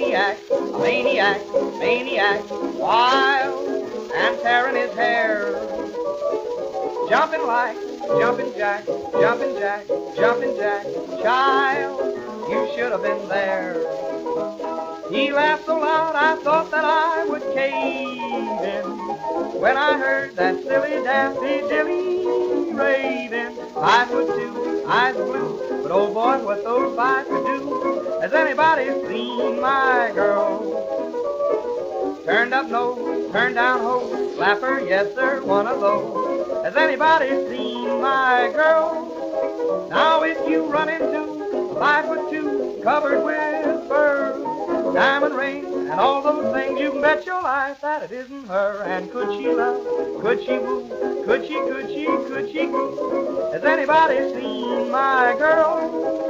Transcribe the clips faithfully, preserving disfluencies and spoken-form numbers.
maniac, a maniac, maniac, wild and tearing his hair. Jumping like jumping jack, jumping jack, jumping jack, child, you should have been there. He laughed so loud I thought that I would cave in when I heard that silly daffy dilly raving. Five foot two, eyes blue, but oh boy, what those five could do. Has anybody seen my girl? Turned up nose, turned down hose, flapper, yes sir, one of those. Has anybody seen my girl? Now if you run into a five foot two covered with fur, diamond ring and all those things, you can bet your life that it isn't her. And could she love, could she woo, could she, could she, could she woo? Has anybody seen my girl?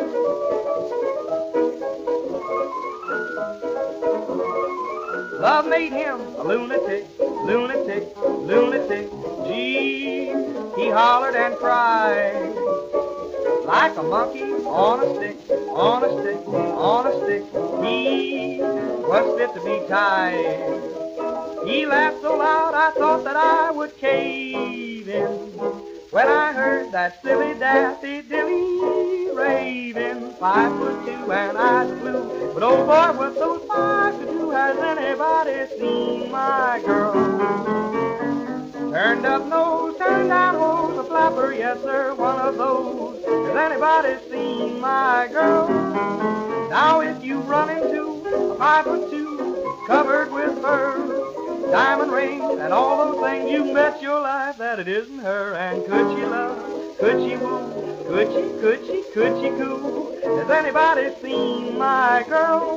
Love made him a lunatic, lunatic, lunatic. Gee, he hollered and cried like a monkey on a stick, on a stick, on a stick. He was fit to be tied. He laughed so loud I thought that I would cave in when I heard that silly daffy dilly raving. Five foot two and eyes blue, but oh boy, what those five could do. Has anybody seen my girl? Turned up nose, turned down hose, a flapper, yes sir, one of those. Has anybody seen my girl? Now if you run into a five foot two covered with fur, diamond rings and all those things, you bet your life that it isn't her. And could she love, could she woo, could she, could she, could she coo? Has anybody seen my girl?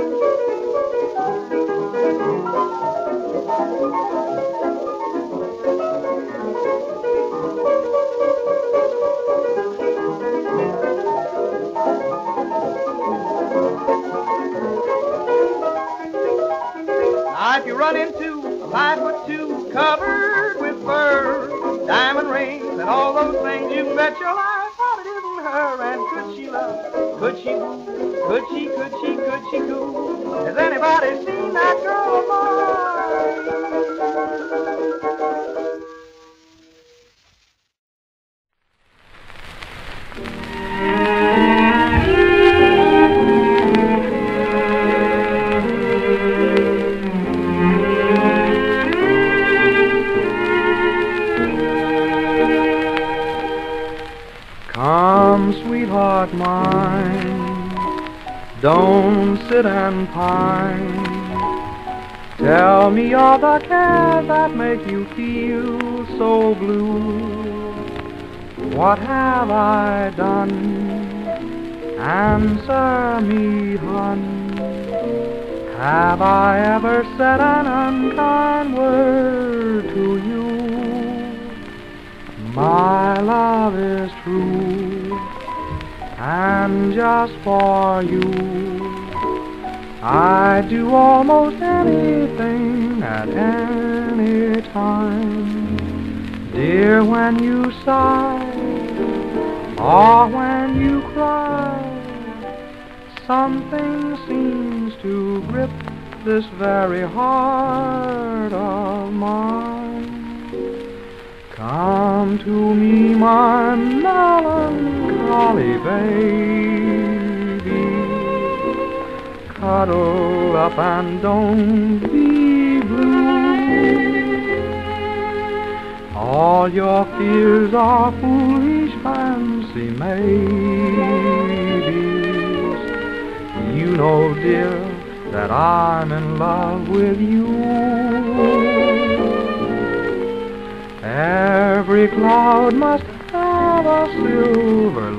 Now if you run into a five foot two covered with fur, diamond rings and all those things, you can bet your life that it isn't her. And could she love, could she woo, could she, could she, could she coo? Has anybody seen that girl of mine? Come, sweetheart mine, don't sit and pine. Tell me all the cares that make you feel so blue. What have I done? Answer me, hun. Have I ever said an unkind word to you? My love is true, and just for you I'd do almost anything at any time. Dear, when you sigh or when you cry, something seems to grip this very heart of mine. Come to me, my melancholy baby, cuddle up and don't be blue. All your fears are foolish fancy maybes. You know, dear, that I'm in love with you. Every cloud must have a silver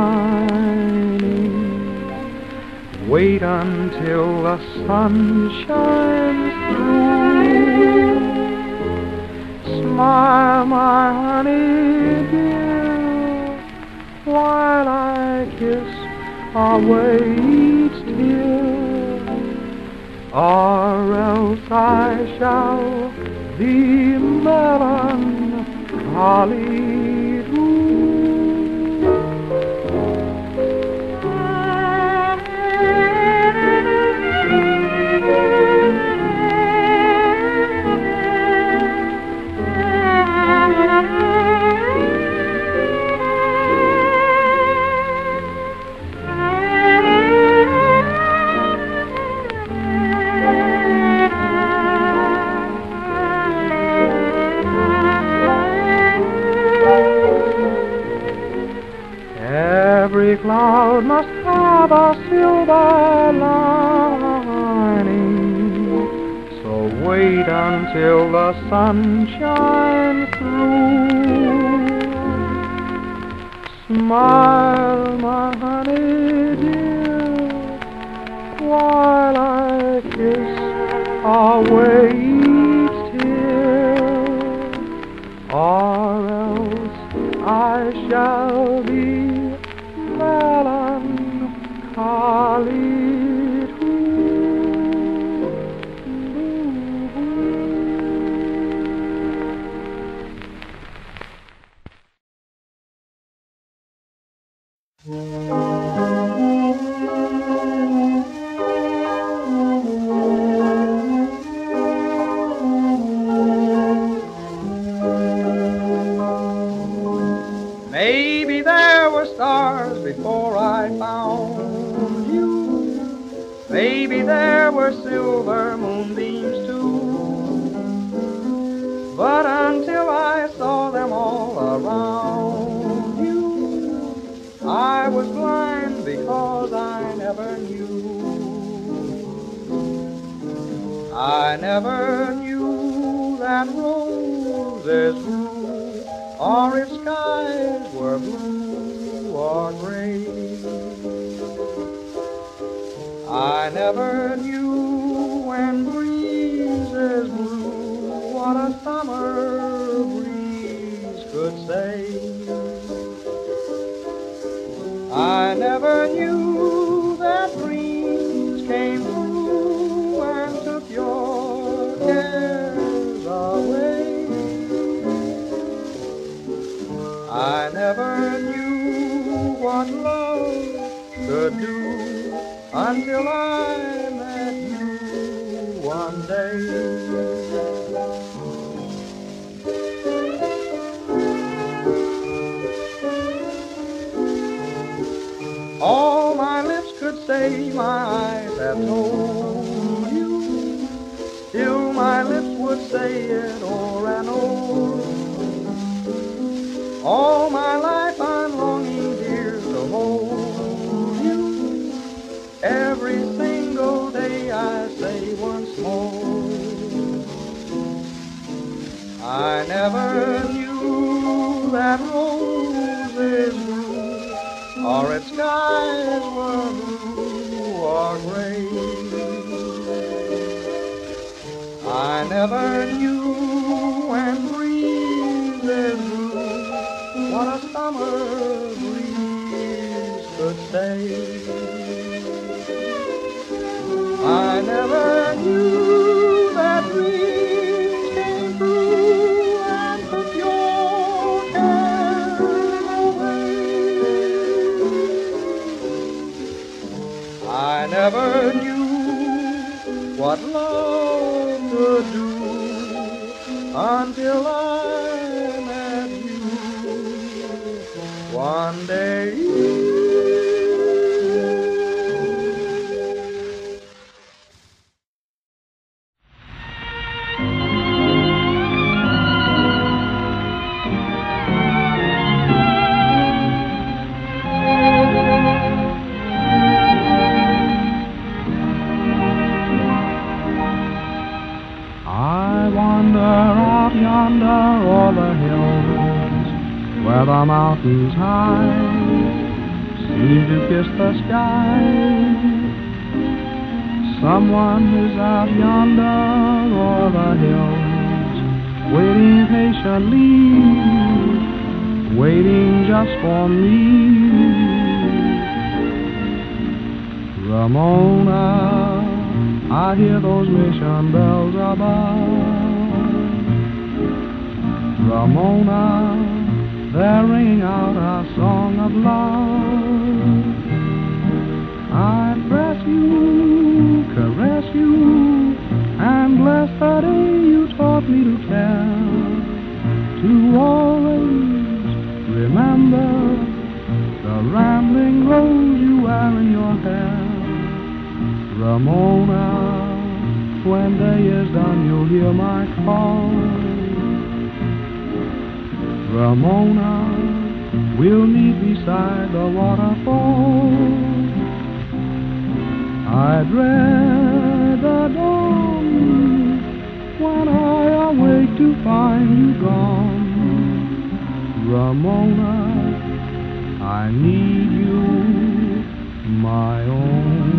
lining. Wait until the sun shines through. Smile, my honey dear, while I kiss away each tear, or else I shall be melancholy too. cloud must have a silver lining, so wait until the sun shines through. Smile, my honey dear, while I kiss away each tear, or else I shall be melancholy Maybe there were stars before I found you. Maybe there were silver moonbeams too. But until I saw them all around you, I was blind because I never knew. I never knew that roses grew, or if skies were blue or gray. I never knew when breezes blew what a summer breeze could say. I never knew that dreams came true and took your cares away. I never knew what love could do until I met you one day. All my lips could say, my eyes have told you. Still my lips would say it o'er and o'er. All my life I'm longing, dear, to hold you. Every single day I say once more, I never knew that roses grew, or its skies were blue or gray. I never knew when breezes blew what a summer breeze could say. I never knew that dreams came true and took your cares away. I never knew what love could do until I met you one day. Yonder o'er the hills, where the mountains high seem to kiss the sky. Someone is out yonder o'er the hills, waiting patiently, waiting just for me. Ramona, I hear those mission bells above. Ramona, they're ringing out our song of love. I press you, caress you, and bless the day you taught me to care. To always remember the rambling rose you wear in your hair. Ramona, when day is done you'll hear my call. Ramona, we'll meet beside the waterfall. I dread the dawn when I awake to find you gone. Ramona, I need you, my own.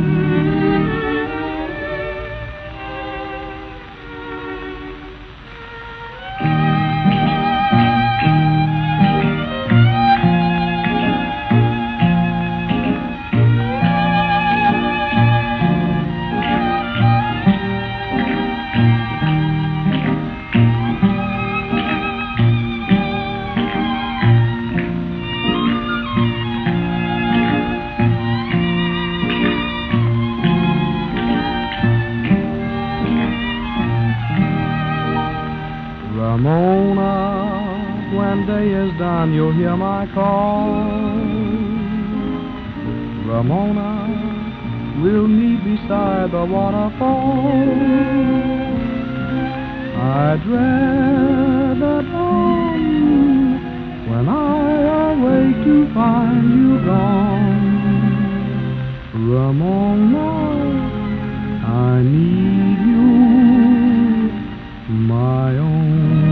Ramona, when day is done, you'll hear my call. Ramona, we'll meet beside the waterfall. I dread the dawn when I awake to find you gone. Ramona, I need you, my own.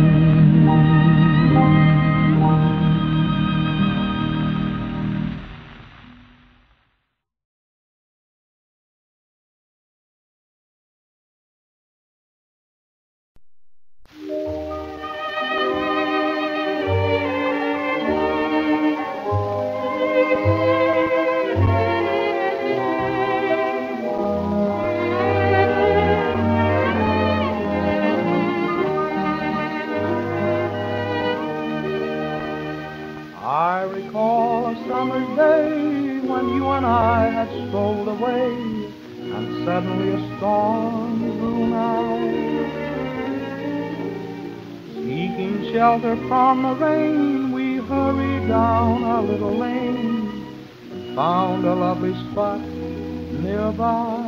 I recall a summer's day when you and I had strolled away, and suddenly a storm grew nigh. Seeking shelter from the rain, we hurried down a little lane, and found a lovely spot nearby.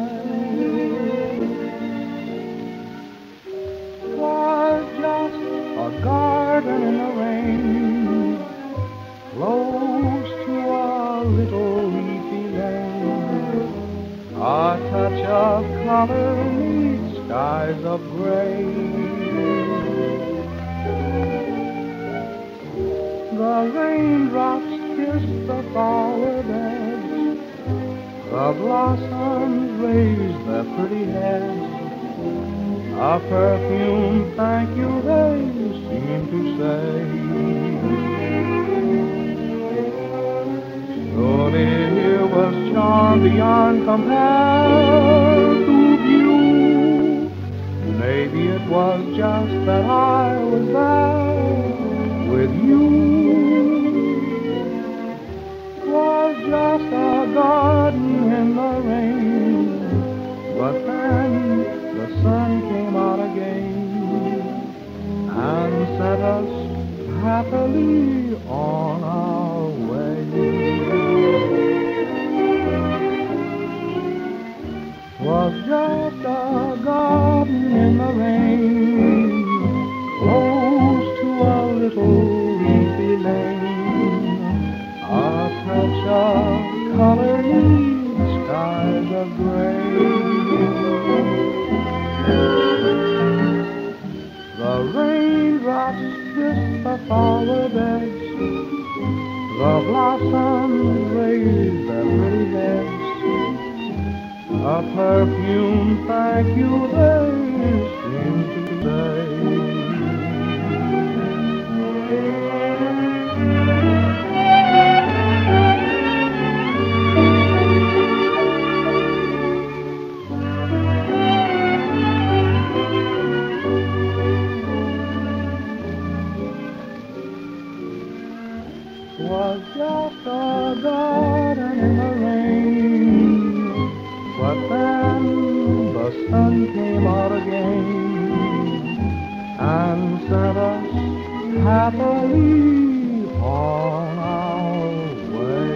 Was just a garden in the rain, close to a little leafy lane. A touch of color meets skies of gray. The raindrops kiss the flower beds, the blossoms raise their pretty heads. A perfume thank you they seem to say. Surely here was charm beyond compare to view. Maybe it was just that I was there with you. Was just a garden in the rain, but then the sun came out again and set us happily on our way. Was just a garden in the rain, close to a little leafy lane. A touch of color needs skies of gray. The raindrops kiss the flower beds, the blossoms raise their pretty heads. A perfume thank you they seem to say. Was just a garden in the rain, but then the sun came out again and sent us happily on our way.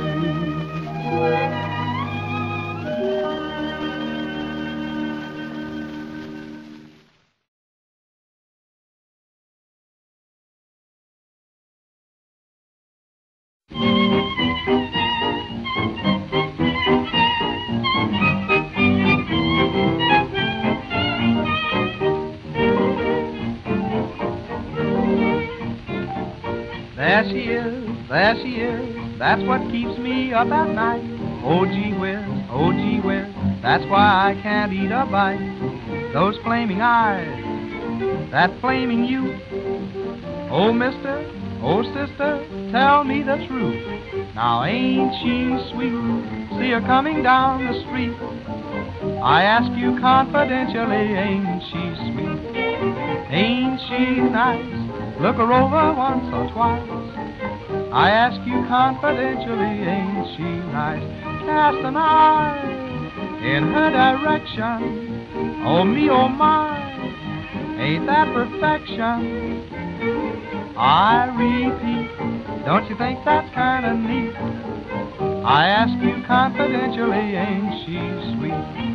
There she is, there she is, that's what keeps me up at night. Oh gee whiz, oh gee whiz, that's why I can't eat a bite. Those flaming eyes, that flaming youth. Oh mister, oh sister, tell me the truth. Now ain't she sweet, see her coming down the street. I ask you confidentially, ain't she sweet? Ain't she nice? Look her over once or twice. I ask you confidentially, ain't she nice? Cast an eye in her direction. Oh me, oh my, ain't that perfection? I repeat, don't you think that's kinda neat? I ask you confidentially, ain't she sweet?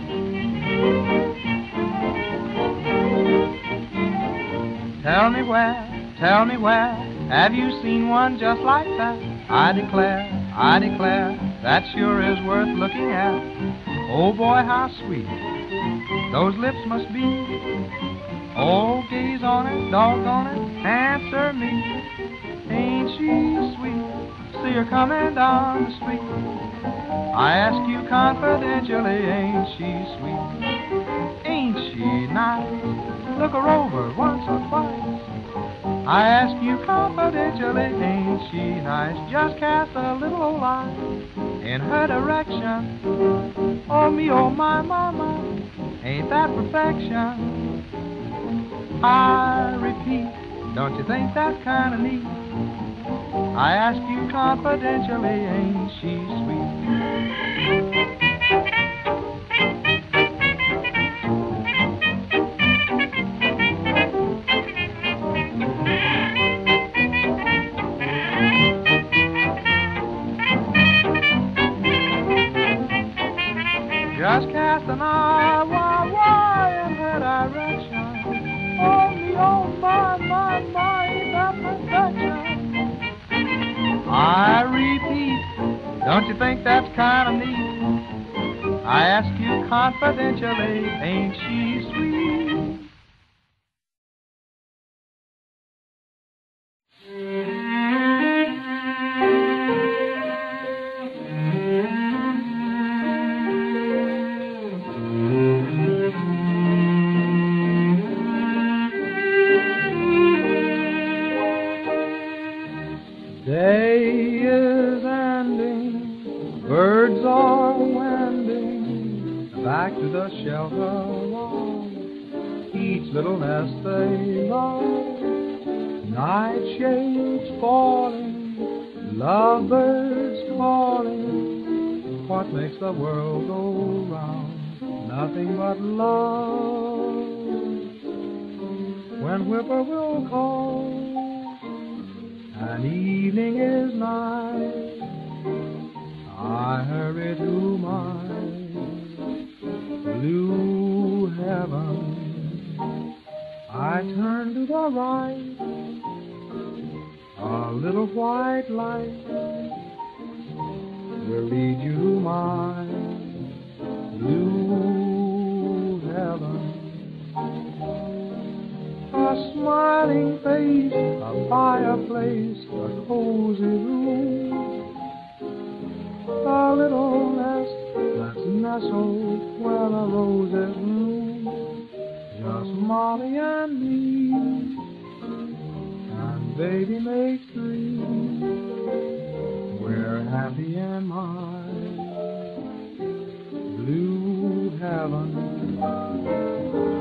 Tell me where, tell me where, have you seen one just like that? I declare, I declare, that sure is worth looking at. Oh boy, how sweet those lips must be. Oh, gaze on it, doggone it, answer me. Ain't she sweet, see her coming down the street. I ask you confidentially, ain't she sweet? Ain't she nice? Look her over once or twice. I ask you confidentially, ain't she nice? Just cast a little old eye in her direction. Oh me, oh my, mama, ain't that perfection? I repeat, don't you think that's kinda neat? I ask you confidentially, ain't she sweet? Just cast an eye, why, why, in her direction. Oh me, oh my, my, my, ain't that perfection? I repeat, don't you think that's kind of neat? I ask you confidentially, ain't she sweet? Day is ending, birds are wending back to the shelter of each little nest they love. Night shades falling, lovebirds calling. What makes the world go round? Nothing but love. When whippoorwill calls and evening is nigh, I hurry to my blue heaven. I turn to the right, a little white light will lead you to my blue heaven. A smiling face, a fireplace, a cozy room, a little nest that's nestled where the roses bloom. Just Molly and me, and baby makes three. We're happy in my blue heaven.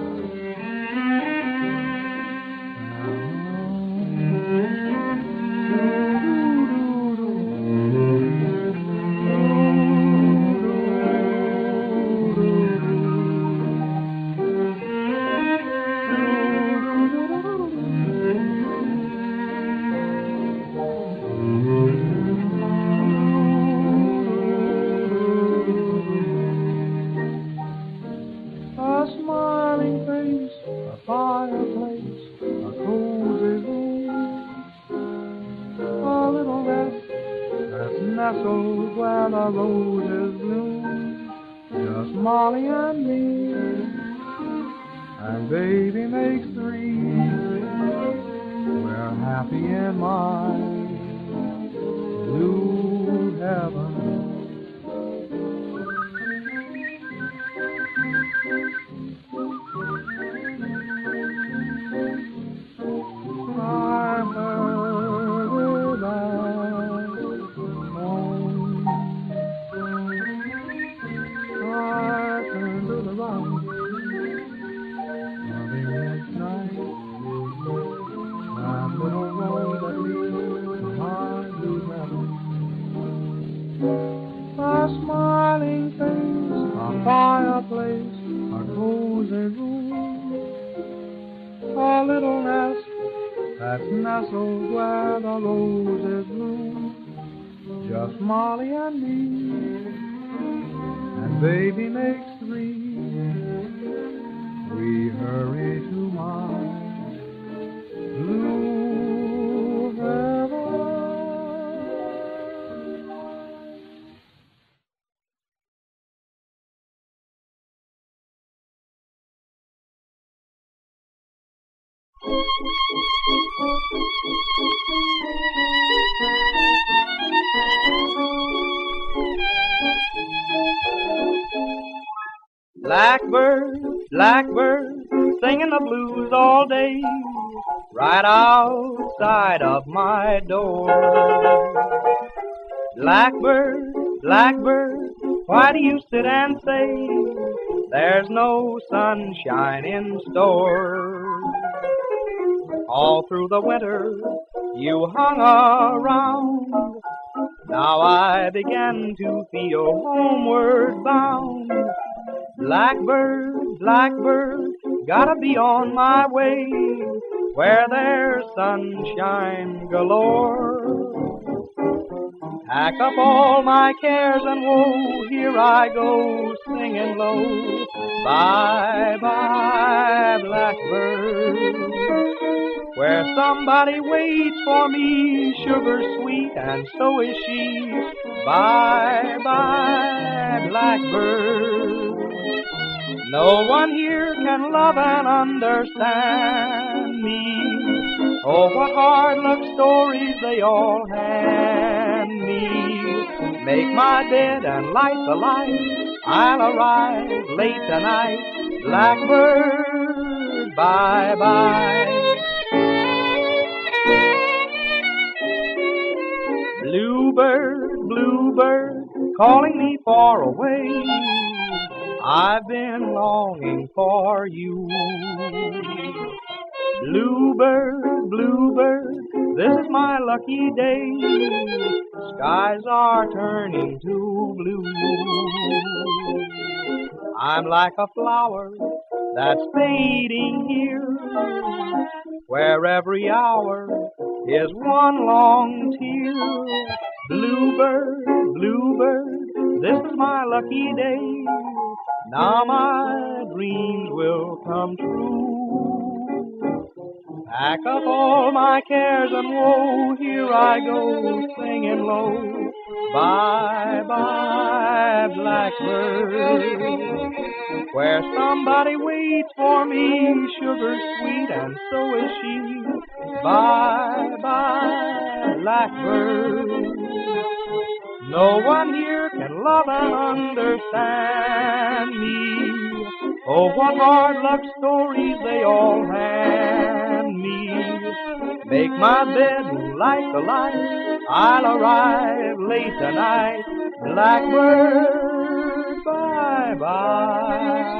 Nestled where the roses bloom, just Molly and me, and baby makes three. We're happy in my blue heaven. I heard it last morning. I turned to the right. Loving this night, that little road that leads to my blue heaven. A smiling face, a fireplace, a cozy room, a little nest that's nestled where the roses bloom. Just Molly and me, and baby makes three. We hurry to my blue heaven. Blackbird, blackbird, singing the blues all day, right outside of my door. Blackbird, blackbird, why do you sit and say there's no sunshine in store? All through the winter you hung around, now I began to feel homeward bound. Blackbird, blackbird, gotta be on my way, where there's sunshine galore. Pack up all my cares and woe, here I go singing low. Bye-bye, blackbird, where somebody waits for me, sugar sweet, and so is she. Bye-bye, blackbird, no one here can love and understand me. Oh, what hard luck stories they all hand me. Make my bed and light the light, I'll arrive late tonight. Blackbird, bye-bye. Bluebird, bluebird, calling me far away, I've been longing for you. Bluebird, bluebird, this is my lucky day, skies are turning to blue. I'm like a flower that's fading here, where every hour is one long tear. Bluebird, bluebird, this is my lucky day, now my dreams will come true. Pack up all my cares and woe, here I go singing low. Bye-bye, blackbird, where somebody waits for me, sugar sweet, and so is she. Bye-bye, blackbird, no one here can love and understand me. Oh, what hard luck stories they all hand me. Make my bed and light the light, I'll arrive late tonight. Blackbird, bye-bye.